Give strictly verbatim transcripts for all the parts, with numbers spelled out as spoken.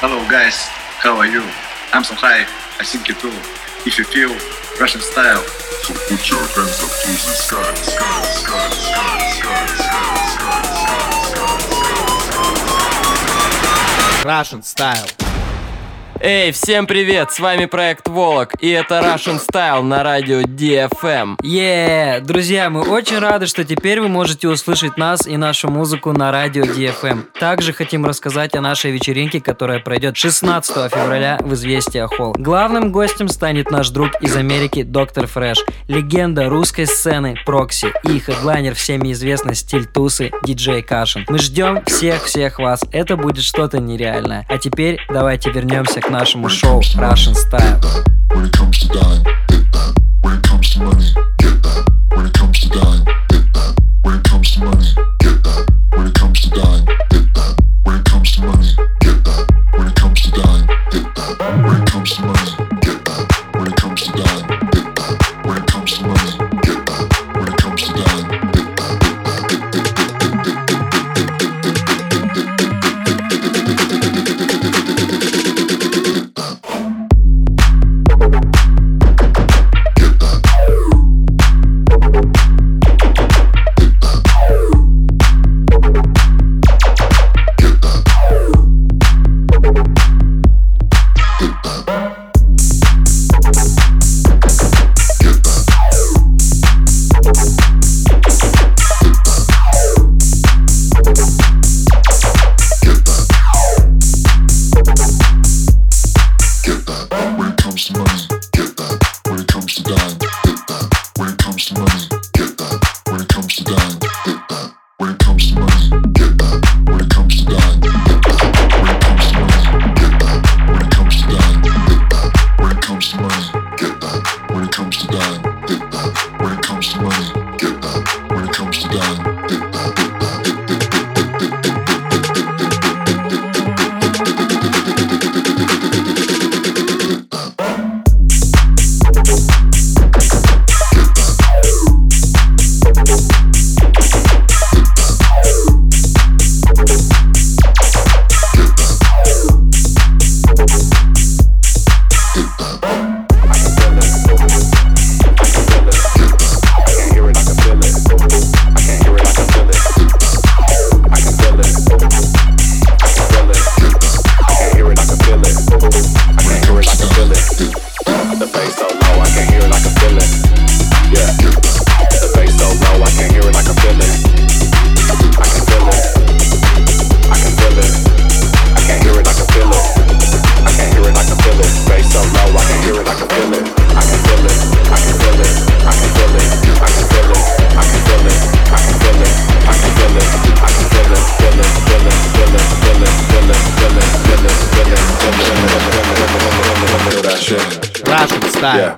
Hello guys, how are you? I'm so high, I think you too. If you feel Russian style, so put your hands up to the sky, sky, sky, sky, sky, sky, sky, sky. Russian style. Эй, всем привет, с вами проект Волок, и это Russian Style на радио ди эф эм. Yeah! Друзья, мы очень рады, что теперь вы можете услышать нас и нашу музыку на радио ди эф эм. Также хотим рассказать о нашей вечеринке, которая пройдет шестнадцатого февраля в Известия Холл. Главным гостем станет наш друг из Америки Доктор Фреш, легенда русской сцены Прокси и хедлайнер всеми известный стиль тусы диджей Кашин. Мы ждем всех-всех вас, это будет что-то нереальное. А теперь давайте вернемся к нашему шоу Russian Style. When it comes to dying, hit that. When it comes to money, get that. When it comes to dying, hit that. When it comes to money, get that. When it comes to dying, hit that. When it comes to money, get that. When it comes to dying, hit that. When it comes to money, get that. When it comes to dying, hit that. When it comes to money, get that. When it comes to dying, hit that. Russian style. Yeah.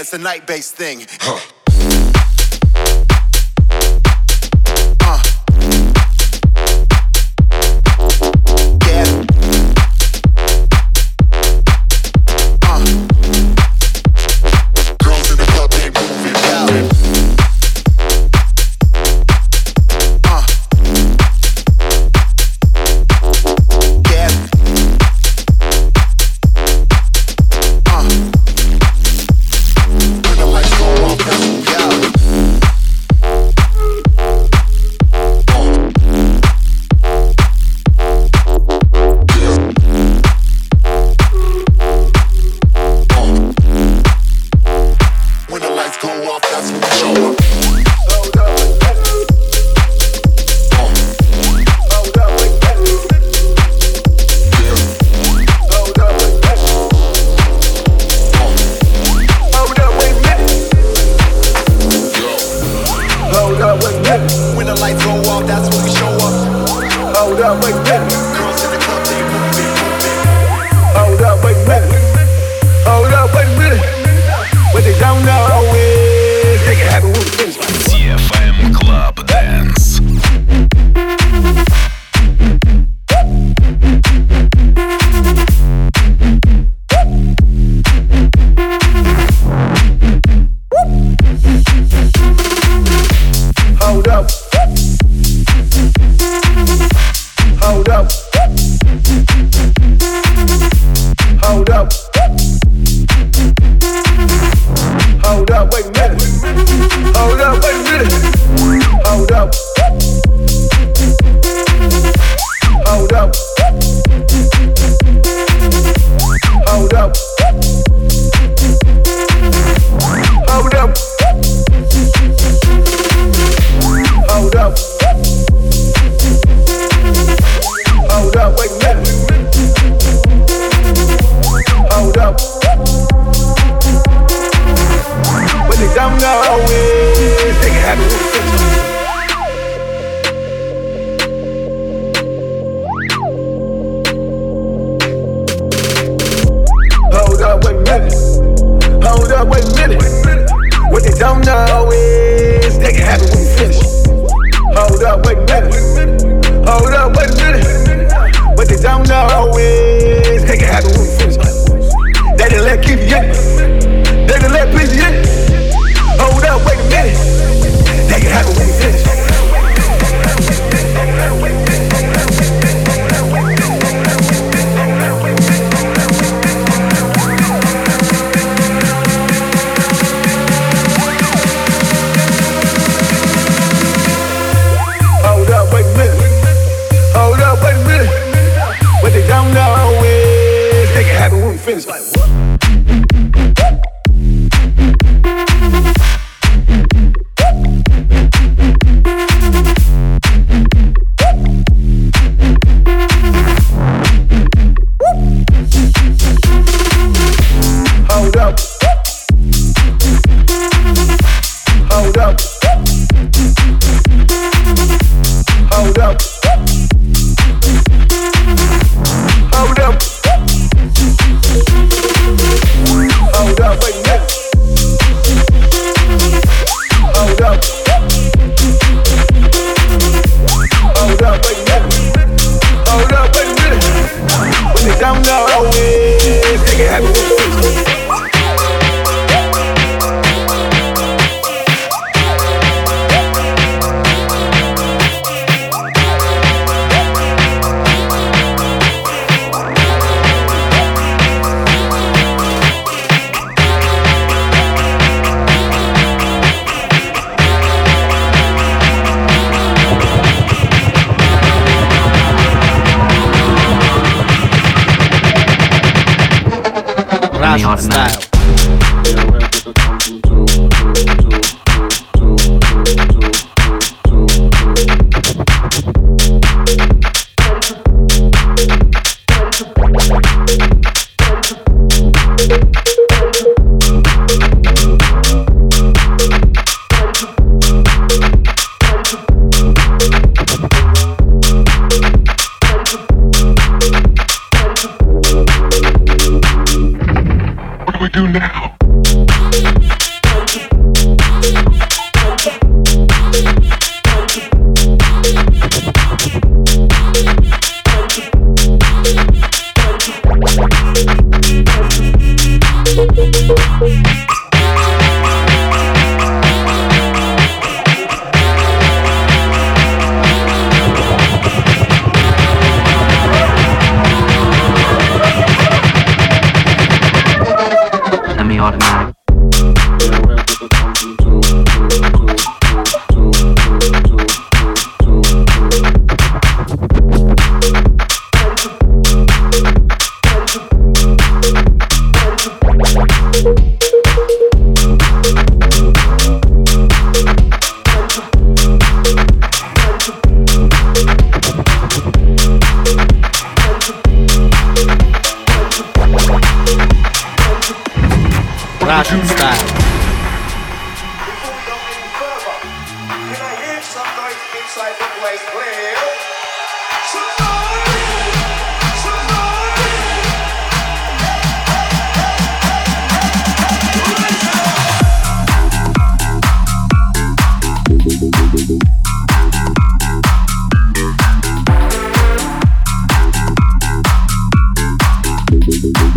it's a night-based thing. Huh. Russian style. What do we do now?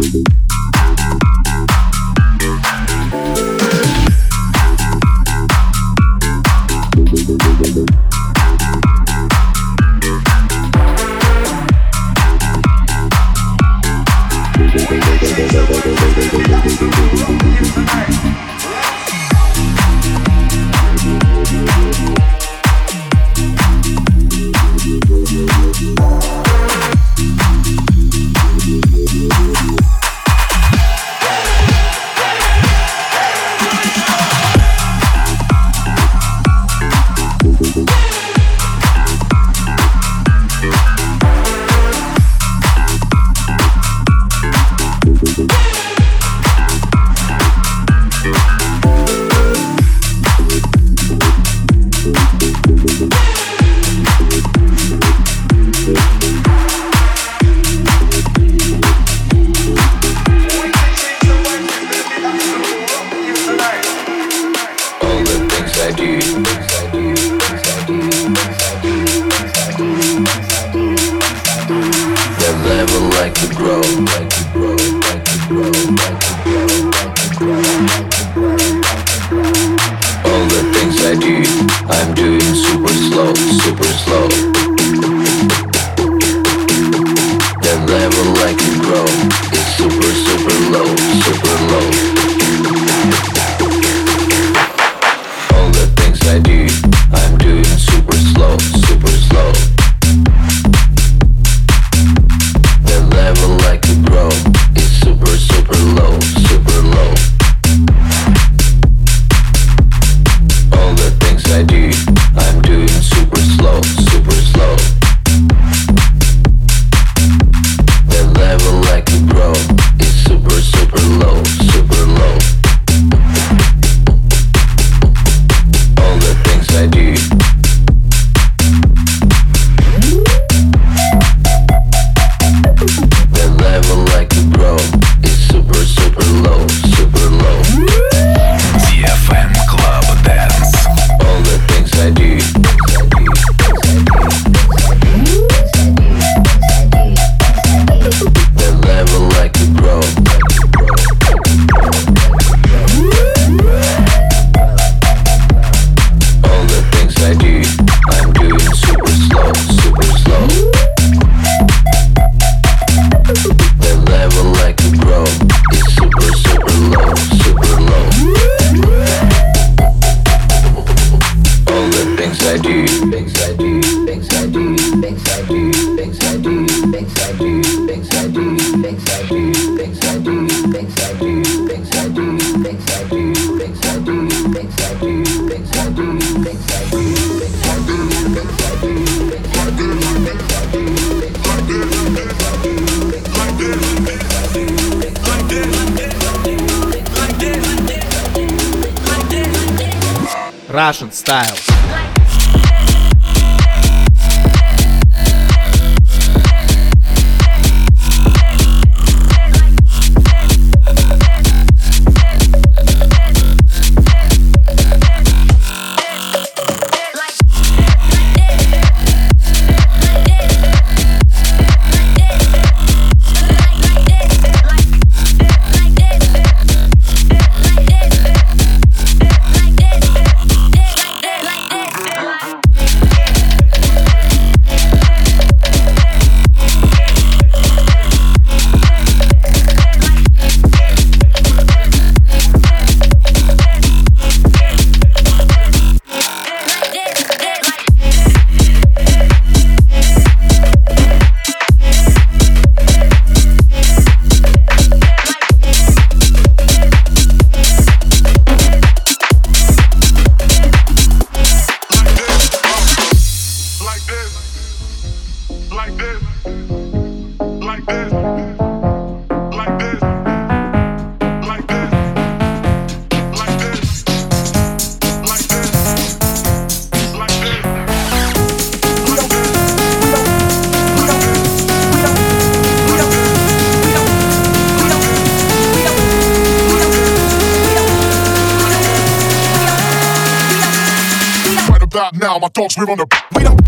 Russian Style. Now my dogs, we're on the wait up.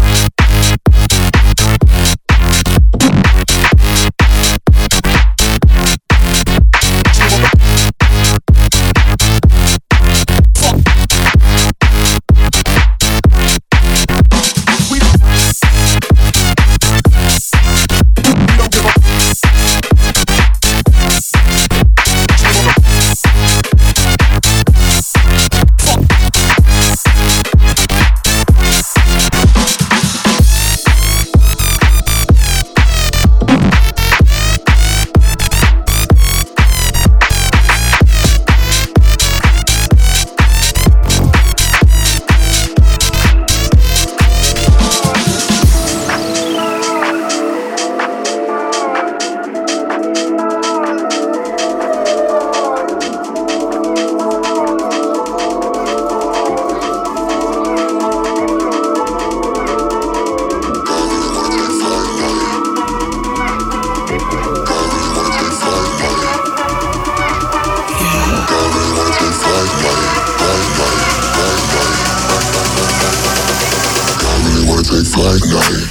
like night.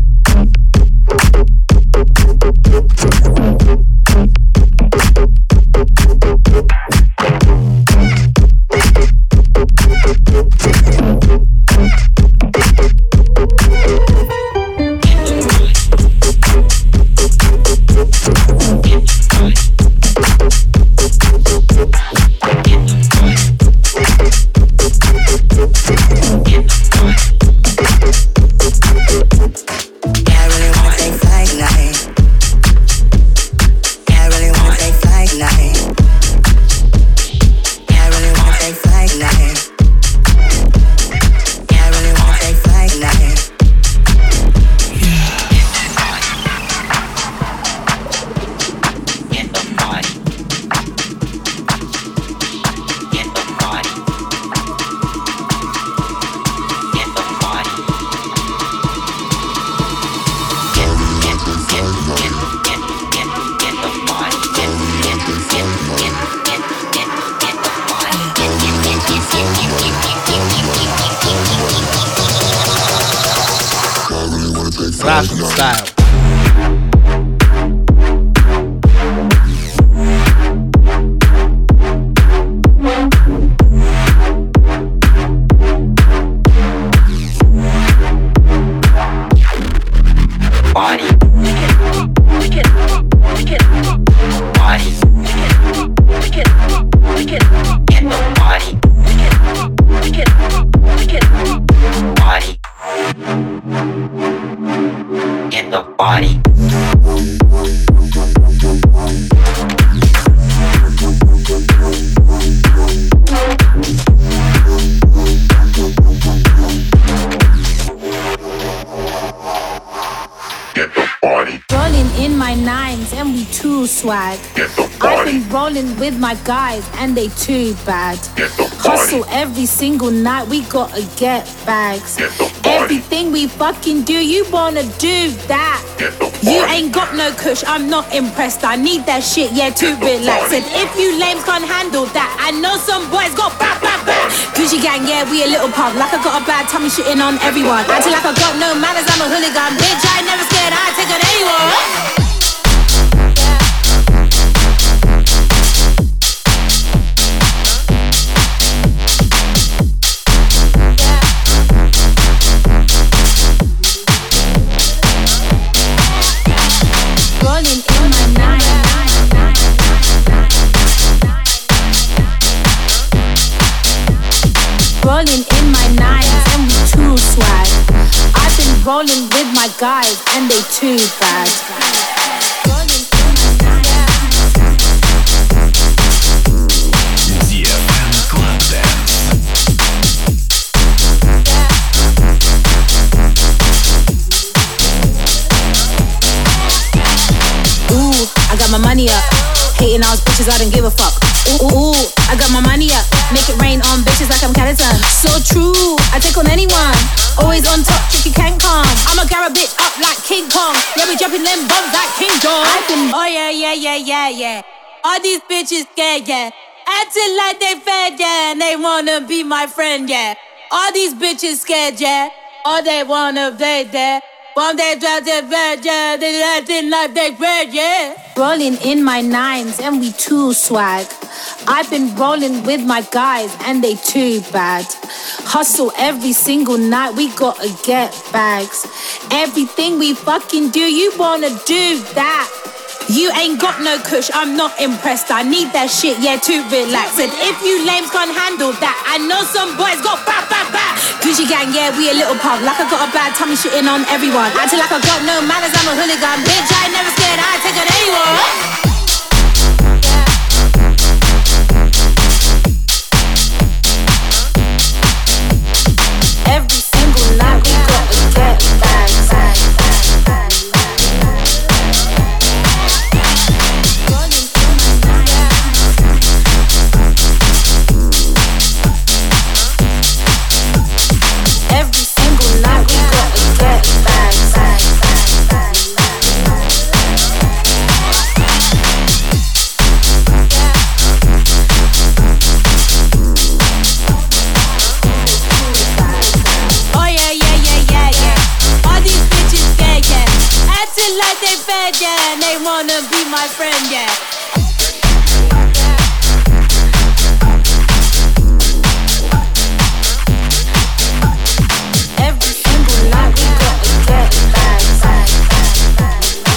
Russian style. Swag. I've been rolling with my guys and they too bad. Hustle every single night, we gotta get bags. Everything we fucking do, you wanna do that. You ain't got no kush, I'm not impressed. I need that shit, yeah, to relax. And if you lames can't handle that, I know some boys got bad, bad, bad. Gucci gang, yeah, we a little pub. Like I got a bad tummy shitting on everyone. Acting like I got no manners, I'm a hooligan. Bitch, I ain't never scared, I take on anyone. Rolling in my nines and we too swag. I've been rolling with my guys and they too bad. ди эф эм Club Dance. Ooh, I got my money up. Hating ass bitches, I don't give a fuck. Ooh, ooh, ooh, I got my money up. Make it rain on bitches like I'm Callison. So true, I take on anyone. Always on top, tricky can't come. I'ma grab a bitch up like King Kong. Yeah, we jumping them bombs like King Kong. I can, oh yeah, yeah, yeah, yeah, yeah. All these bitches scared, yeah. Acting like they fed, yeah. And they wanna be my friend, yeah. All these bitches scared, yeah. All they wanna play, yeah. One day drop their bed, yeah. They acting like they bread, yeah. Rolling in my nines and we too swag. I've been rolling with my guys and they too bad. Hustle every single night, we gotta get bags. Everything we fucking do, you wanna do that. You ain't got no kush, I'm not impressed. I need that shit, yeah, to relax. And if you lames can't handle that, I know some boys got bad, bad, bad. Gucci gang, yeah, we a little pub. Like I got a bad tummy shitting on everyone. Acting like I got no manners, I'm a hooligan. Bitch, I ain't never scared, I take on anyone. Every single night we gotta get bags. Every single night we gotta get bags. bed, yeah, and they wanna be my friend, yeah. Every single night we gotta get back, back, back,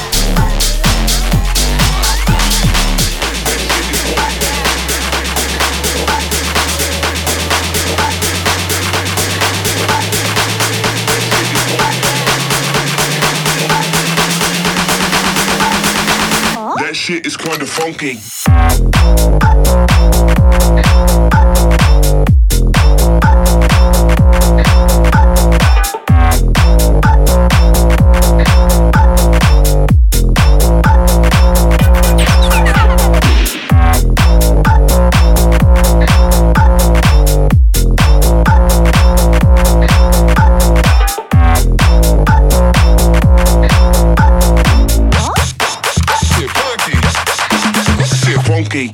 That shit is kinda funky. Funky.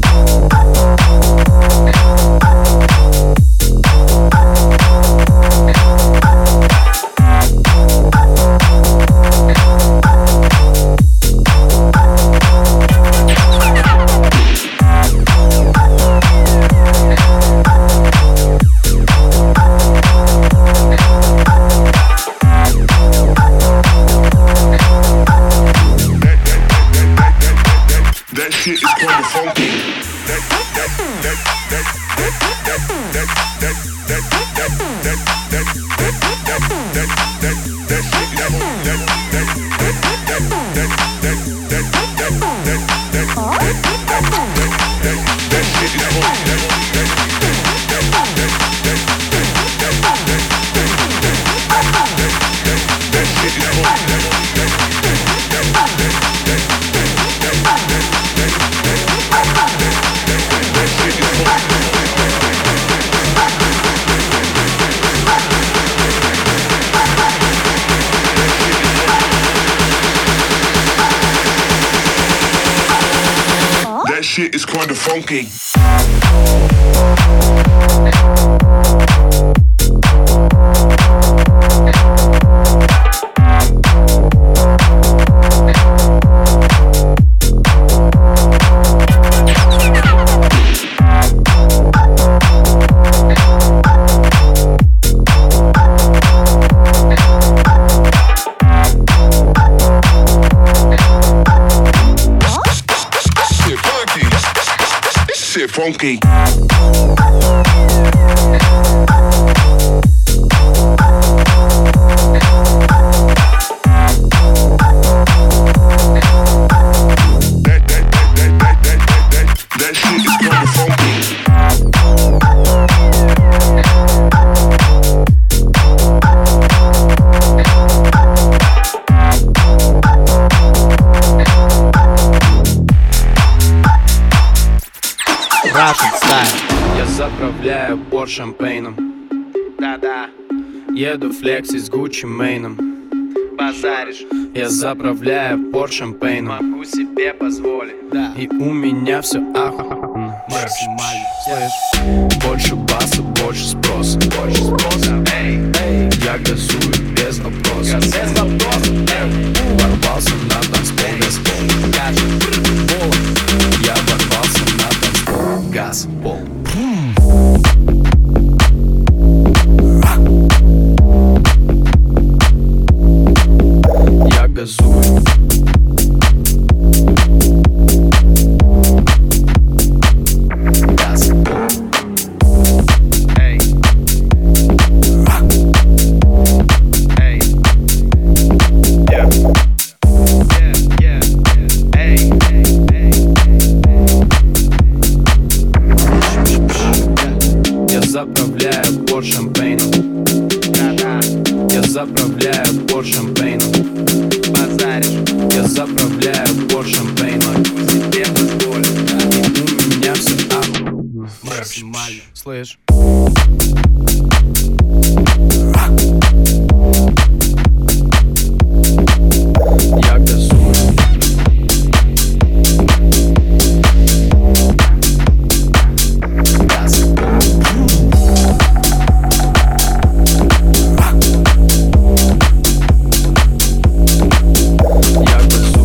That shit is kinda funky. That that that that that that that that that that that that that that that that that shit is that that that that that that that that that that that that shit is that shit That shit is kinda funky. Funky. Я заправляю порт шампейном. Да-да. Еду флекси с Гуччи Мэйном. Базаришь. Я заправляю порт шампейном. Могу себе позволить. Да. И у меня все охуенно. Максимально. Слышь? Больше баса, больше спроса. Больше спроса. Эй, эй. Я газую без вопросов. Без вопросов. Ворвался на танцпол, газпол. Гаджет. Я ворвался на танцпол. Газпол. Я газую. Газпол. Эй. Эй. Yeah. Yeah, yeah, yeah. Эй, эй, эй. Я заправляю порт шампейном. Да-да. Я заправляю порт шампейном. Базаришь. Я заправляю порт шампейном. Могу себе позволить. Да. И у меня все охуенно. Максимально. Слышь? Я газую. Я газую.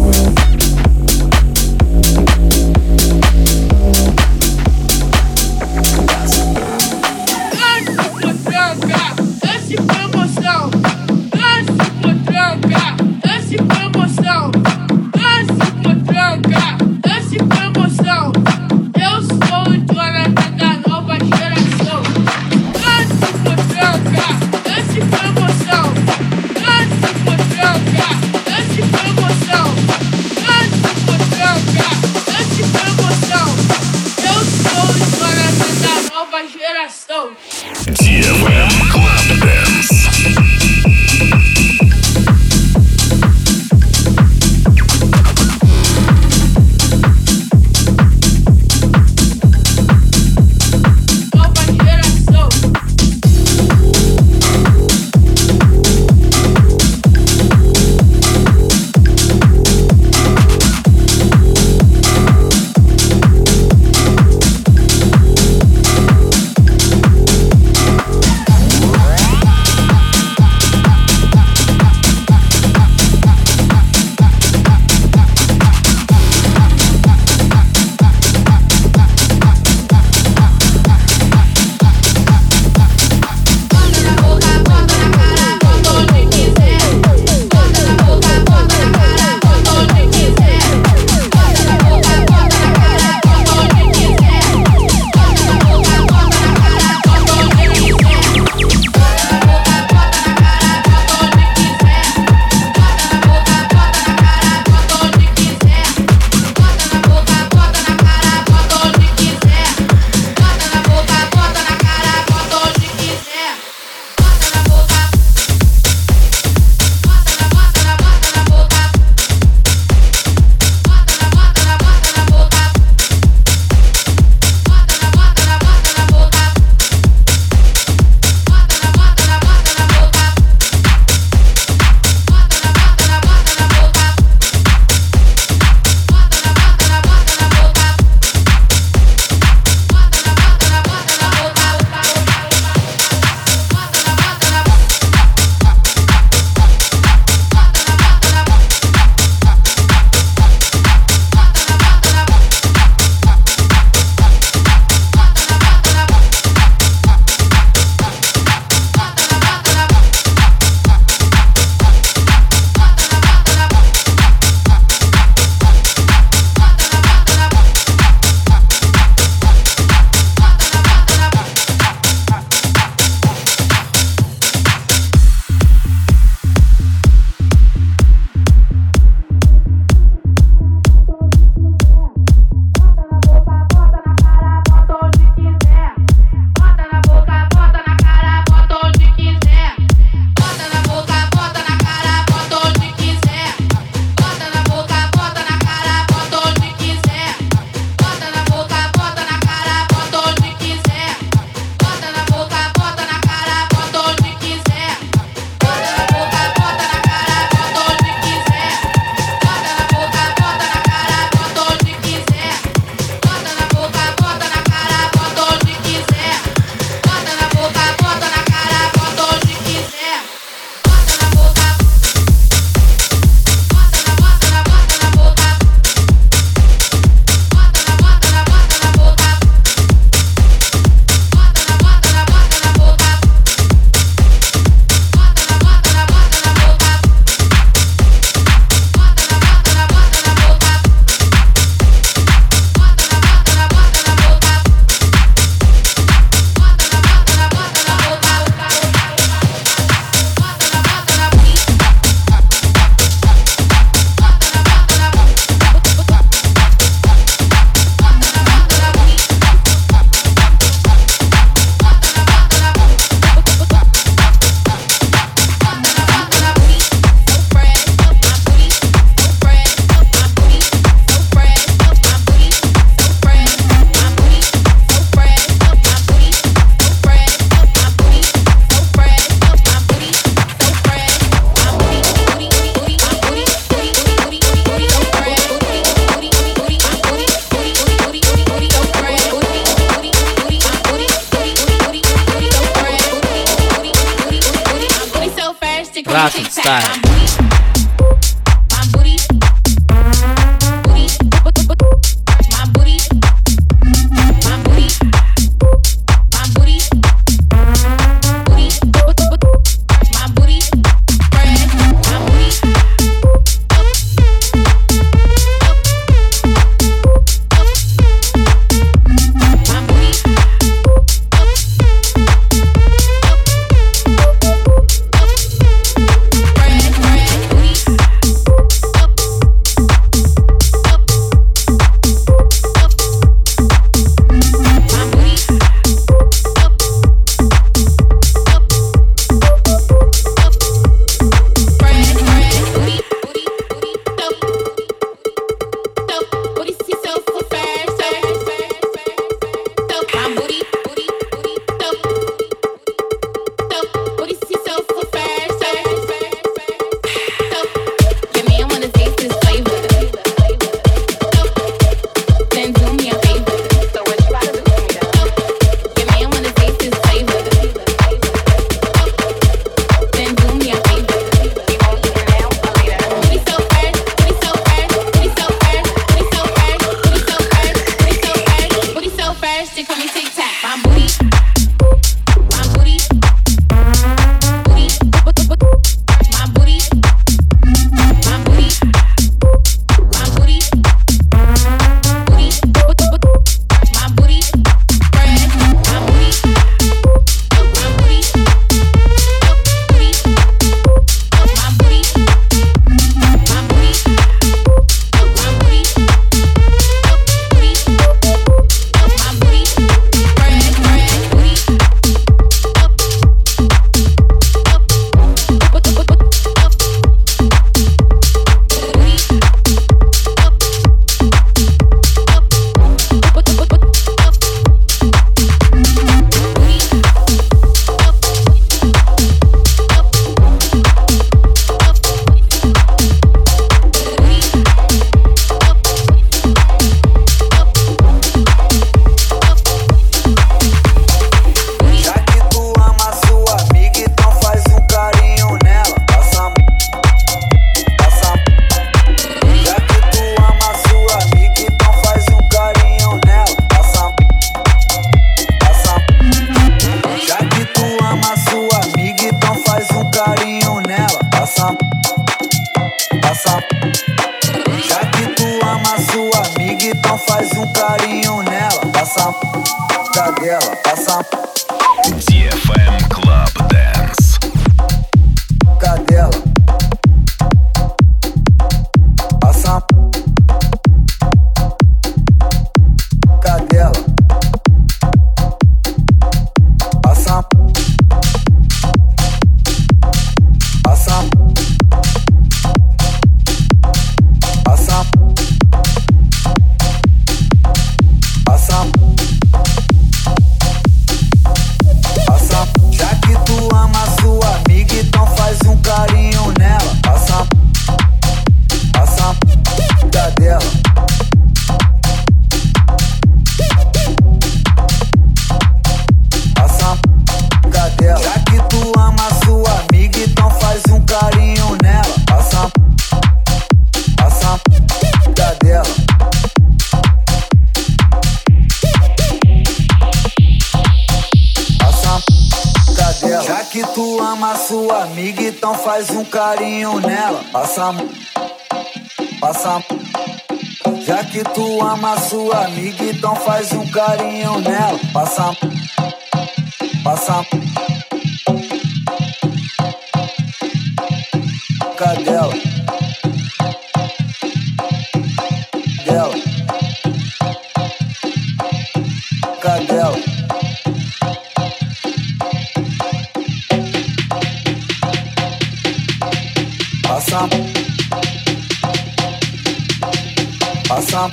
Russian Style. ди эф эм Club Dance. Cadela. Passa. Cadela. Passa. Passa. Passa. Passa. Passa. Já que tu ama sua amiga, então faz um carinho nela. Passa. Passa. Cadela. Passa. Cadela. Já que tu ama sua amiga, então faz um carinho nela. Passa. Passa. Cadela. Passa. Cadela. Já que tu ama sua amiga, então faz um carinho nela. Passa. Passa. Já que tu ama sua amiga, então faz um carinho nela. Passa. Passa. Cadela. Cadela. Cadela. Passa. Passa.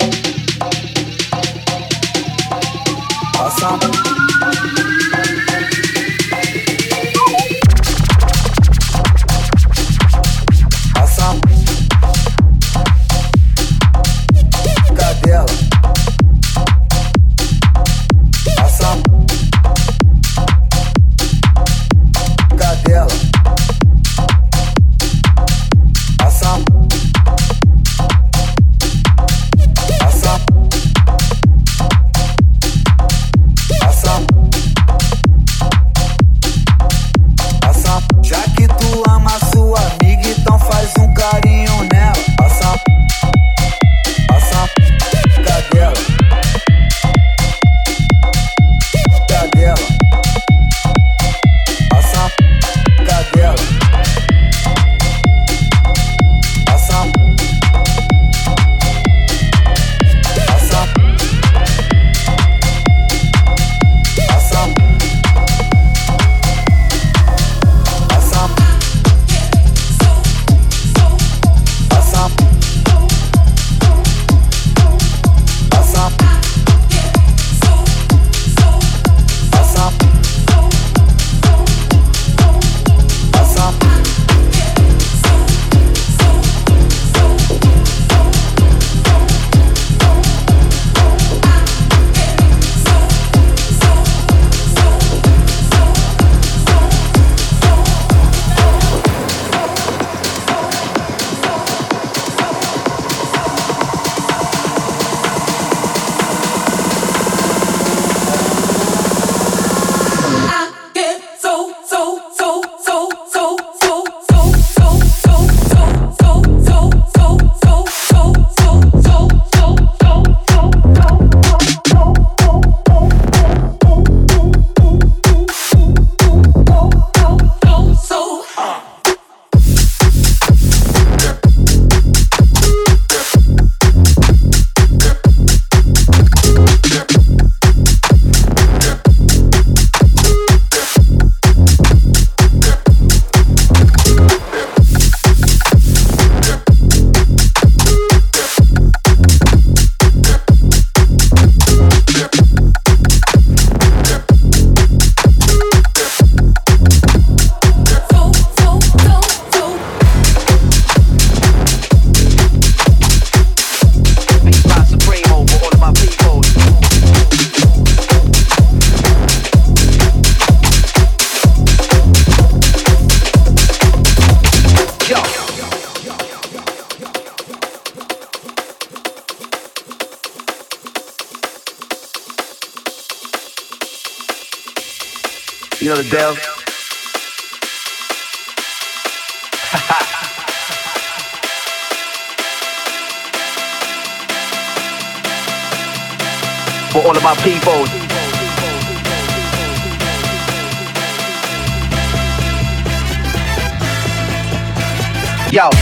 Passa. Passa. Cadela. Passa. Cadela. You know the deal. For all of my people. Yo.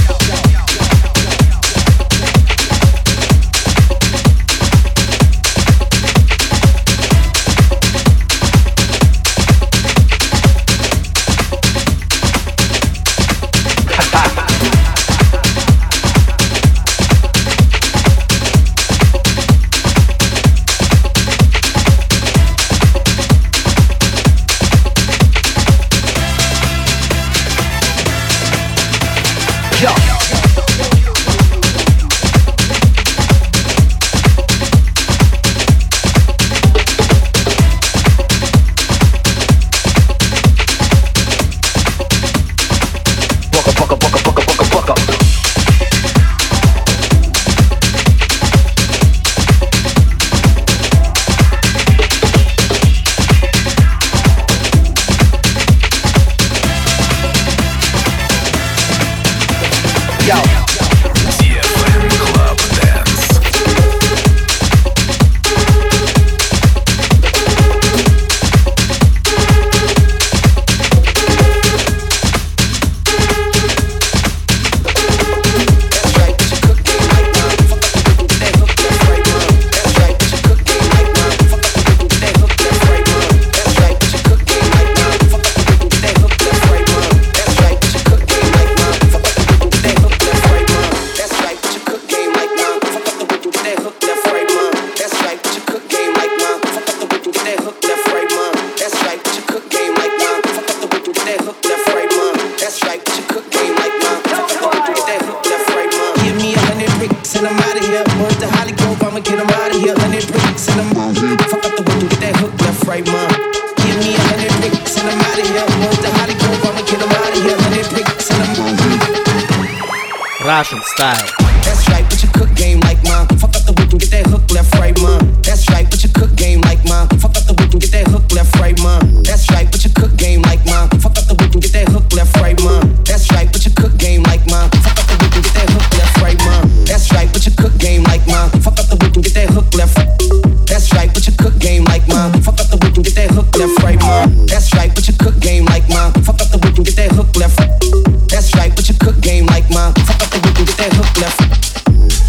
Russian style. That's right, but you cook game like mine. Fuck up the whip and get that hook left, right, mom. That's right, but you cook game like mine. Fuck up the whip and get that hook left, right, mom. That's right, but you cook game like mine. Fuck up the whip and get that hook left, right, mom. That's right, but you cook game like mine. Fuck up the whip and get that hook left, right, mom. That's right, but you cook game like mine. Fuck up the whip and get that hook left. That's right, but you cook game like mine. Fuck up the whip and get that hook left, right, mom. That's right, but you cook game like mine. Fuck up the whip and get that hook left. That's right, but you cook game like mine. Fuck up the whip and get that hook left.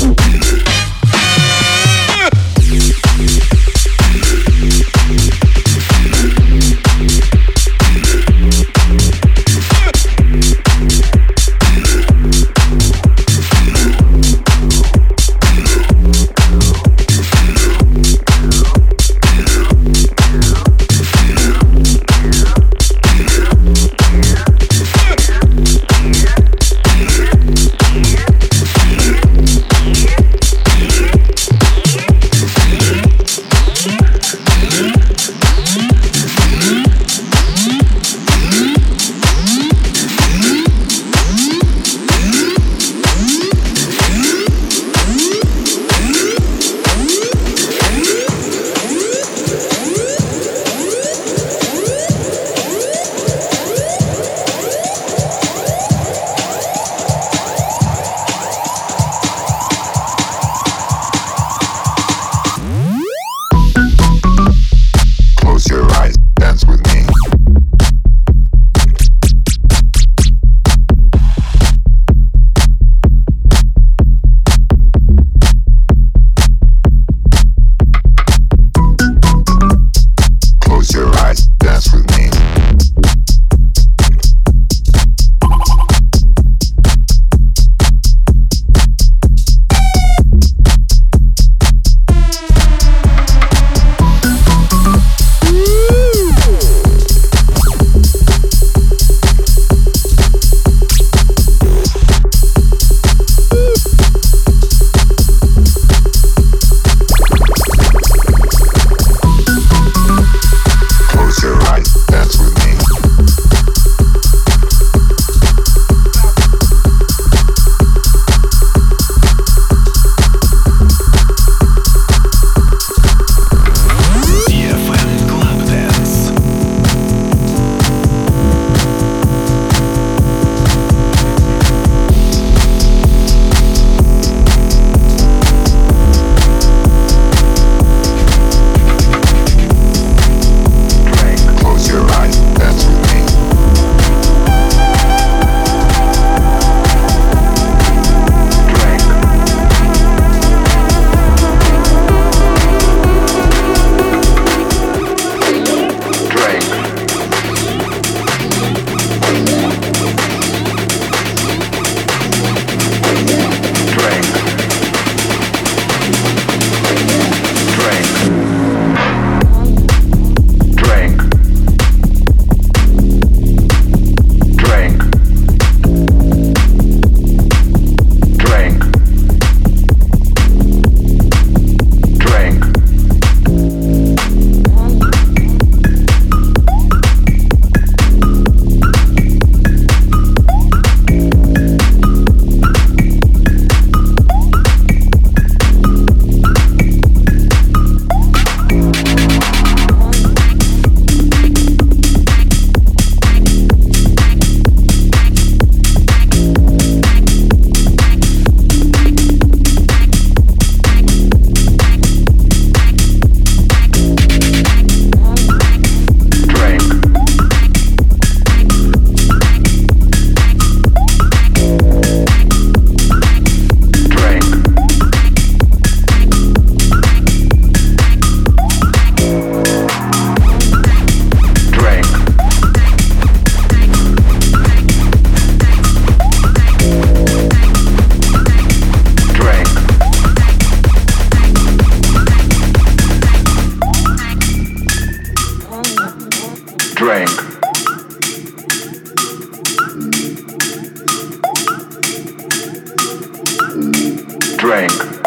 Drink.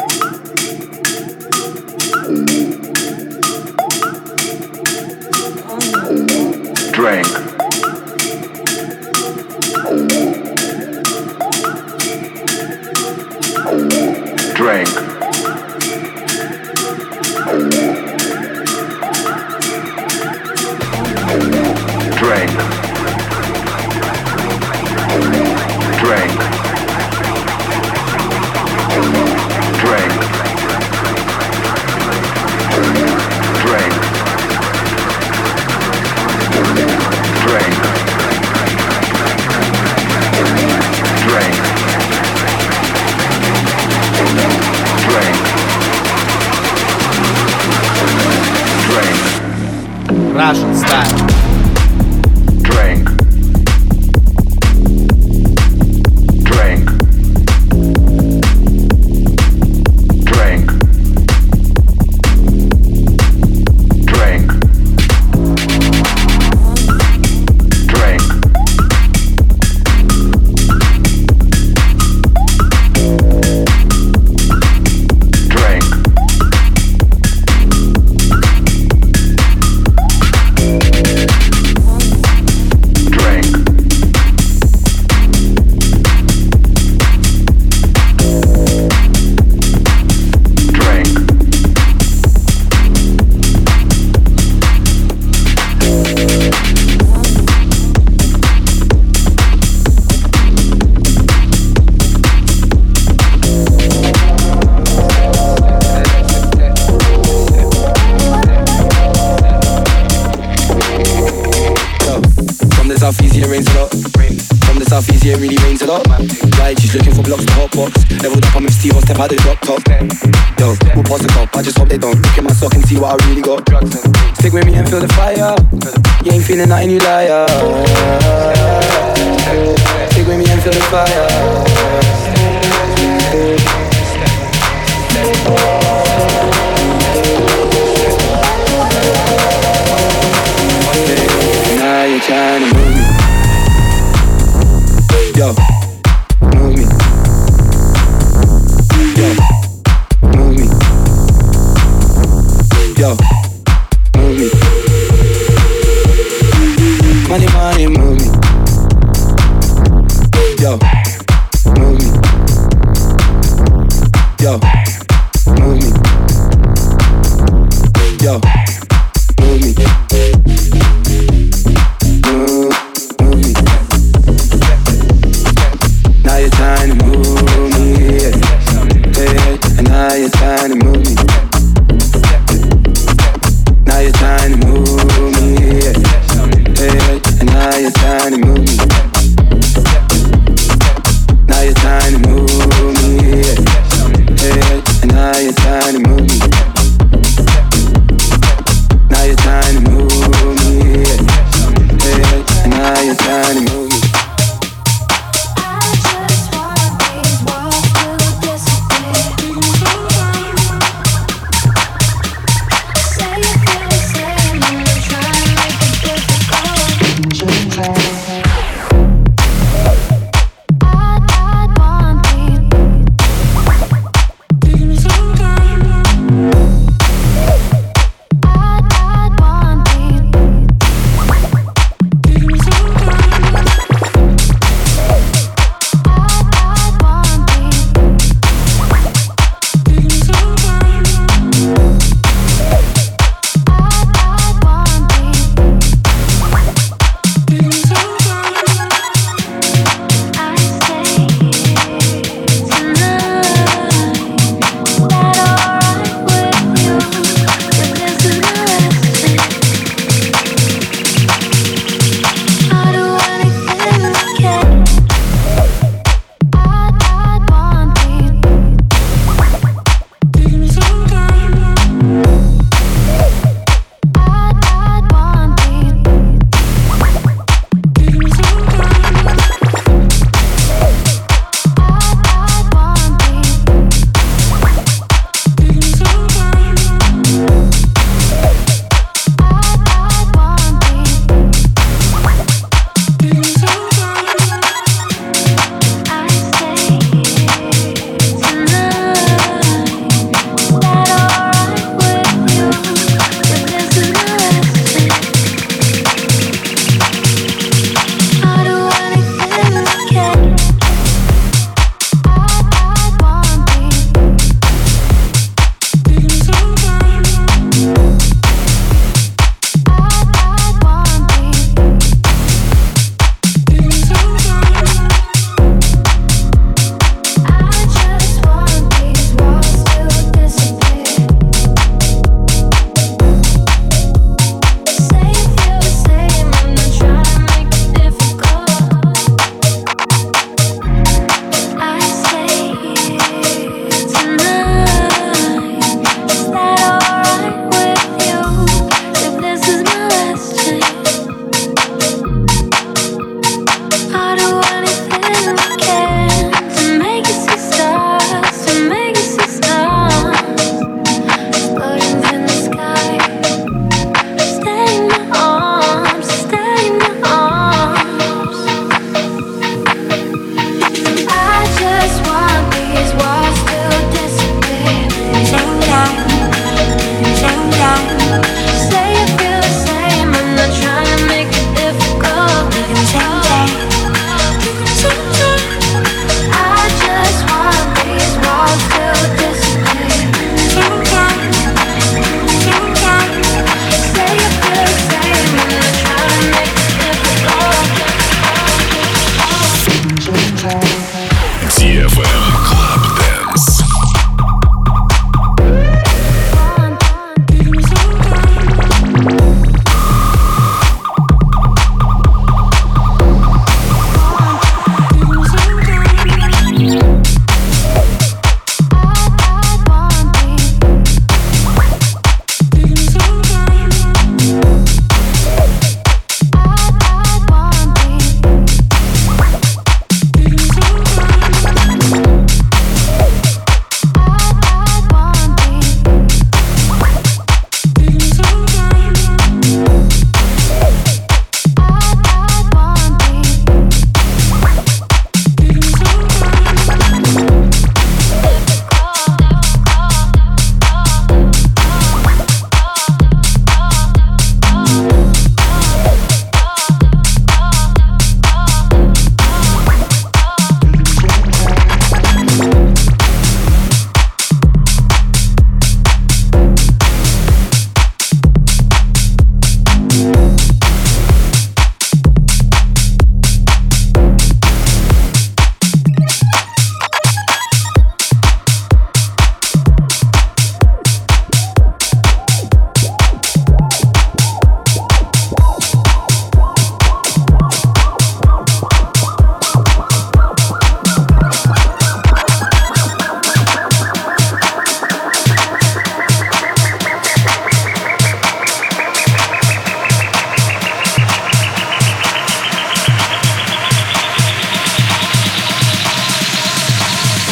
Drink. Drink. Drink. Drink. Drink. Drink. Drink. Drink. Russian Style. Drink. Drink. Drink. Drink. Drink. Southeast, it rains a lot. From the southeast, it really rains a lot. Right, she's looking for blocks to hot box. Leveled up, I'm M C, I'll step out the drop top. Yo, we'll pass the cup, I just hope they don't look at my sock and see what I really got. Stick with me and feel the fire. You ain't feeling nothing, you liar. Stick with me and feel the fire. Now you're trying to move me. Yo, move me. Yo, move me. Yo, move me. Money, money, move me. Yo, move me. Yo, move me. Yo, move me. Trying to move me, yeah. Hey, and now you're trying to move me. Now you're trying to move me, yeah. Hey, and now you're trying to move me. Now you're trying to move me, yeah. Hey,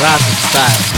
Russian Style.